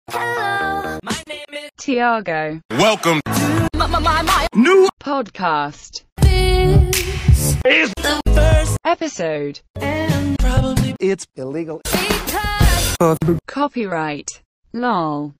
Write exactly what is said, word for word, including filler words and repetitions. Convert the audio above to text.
Hello, my name is Tiago. Welcome my, my, my, my. New podcast. This is the first Episode. and probably it's illegal because Copyright. Lol.